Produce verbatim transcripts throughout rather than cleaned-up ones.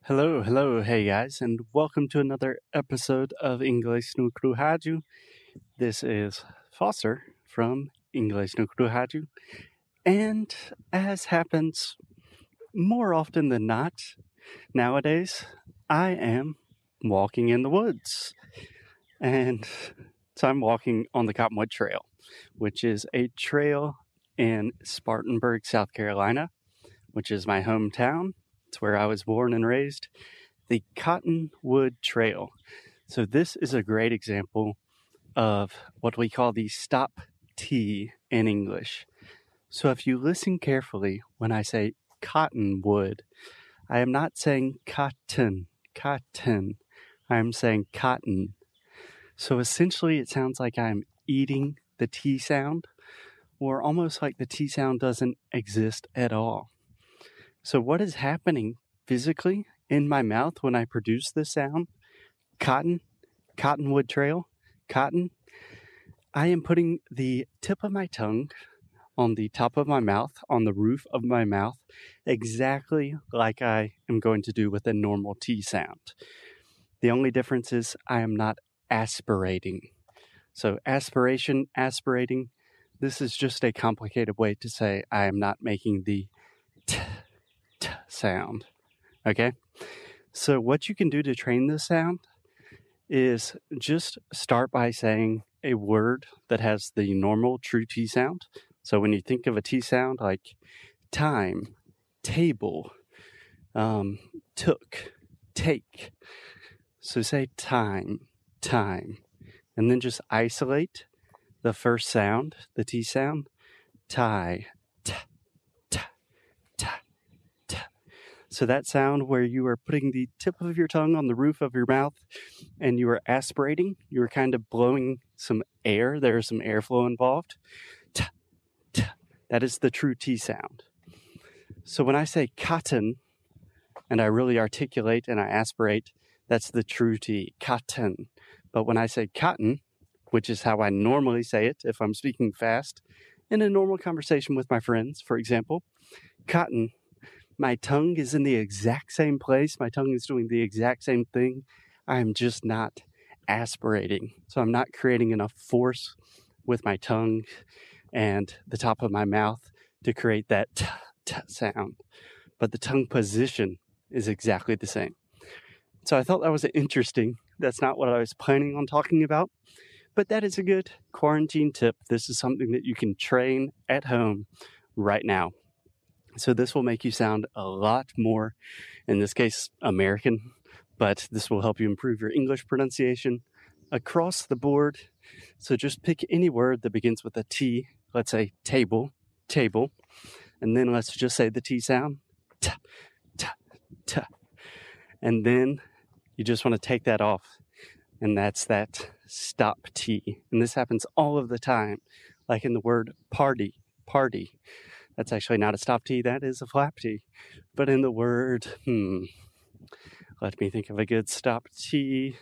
Hello, hello, hey guys, and welcome to another episode of Inglês no Cru Rádio. This is Foster from Inglês no Cru Rádio, and as happens more often than not nowadays, I am walking in the woods. And so I'm walking on the Cottonwood Trail, which is a trail in Spartanburg, South Carolina, which is my hometown. It's where I was born and raised, the Cottonwood Trail. So this is a great example of what we call the stop T in English. So if you listen carefully when I say cottonwood, I am not saying cotton, cotton. I am saying cotton. So essentially it sounds like I'm eating the T sound, or almost like the T sound doesn't exist at all. So what is happening physically in my mouth when I produce this sound? Cotton, Cottonwood Trail, cotton. I am putting the tip of my tongue on the top of my mouth, on the roof of my mouth, exactly like I am going to do with a normal T sound. The only difference is I am not aspirating. So aspiration, aspirating, this is just a complicated way to say I am not making the T sound. Okay? So what you can do to train this sound is just start by saying a word that has the normal true T sound. So when you think of a T sound like time, table, um, took, take. So say time, time, and then just isolate the first sound, the T sound, tie, t, t, t. So that sound where you are putting the tip of your tongue on the roof of your mouth and you are aspirating, you are kind of blowing some air. There is some airflow involved. T, t. That is the true T sound. So when I say cotton and I really articulate and I aspirate, that's the true T, cotton. But when I say cotton, which is how I normally say it if I'm speaking fast in a normal conversation with my friends, for example, cotton, my tongue is in the exact same place. My tongue is doing the exact same thing. I'm just not aspirating. So I'm not creating enough force with my tongue and the top of my mouth to create that t, t sound. But the tongue position is exactly the same. So I thought that was interesting. That's not what I was planning on talking about, but that is a good quarantine tip. This is something that you can train at home right now. So this will make you sound a lot more, in this case, American, but this will help you improve your English pronunciation across the board. So just pick any word that begins with a T. Let's say table, table, and then let's just say the T sound, t, t, t. And then you just want to take that off, and that's that stop T. And this happens all of the time, like in the word party, party. That's actually not a stop T, that is a flap T. But in the word, hmm, let me think of a good stop T.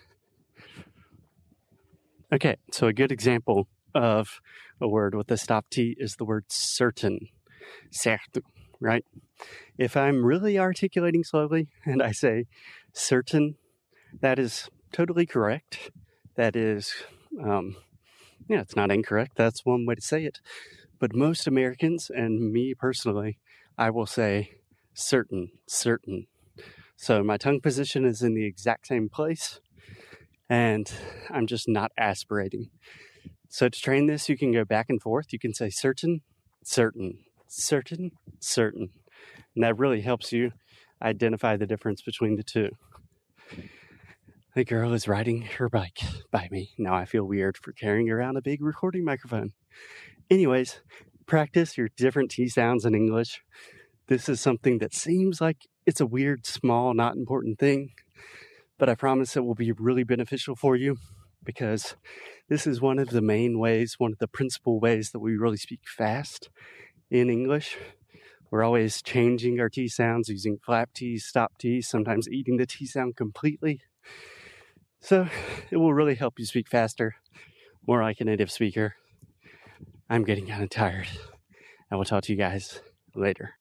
Okay, so a good example of a word with a stop T is the word certain, certo, right? If I'm really articulating slowly and I say certain, that is totally correct. That is, um, yeah, it's not incorrect. That's one way to say it. But most Americans, and me personally, I will say certain, certain. So my tongue position is in the exact same place, and I'm just not aspirating. So to train this, you can go back and forth. You can say certain, certain, certain, certain. And that really helps you identify the difference between the two. The girl is riding her bike by me. Now I feel weird for carrying around a big recording microphone. Anyways, practice your different T sounds in English. This is something that seems like it's a weird, small, not important thing, but I promise it will be really beneficial for you because this is one of the main ways, one of the principal ways that we really speak fast in English. We're always changing our T sounds, using flap T's, stop T's, sometimes eating the T sound completely. So it will really help you speak faster, more like a native speaker. I'm getting kind of tired. I will talk to you guys later.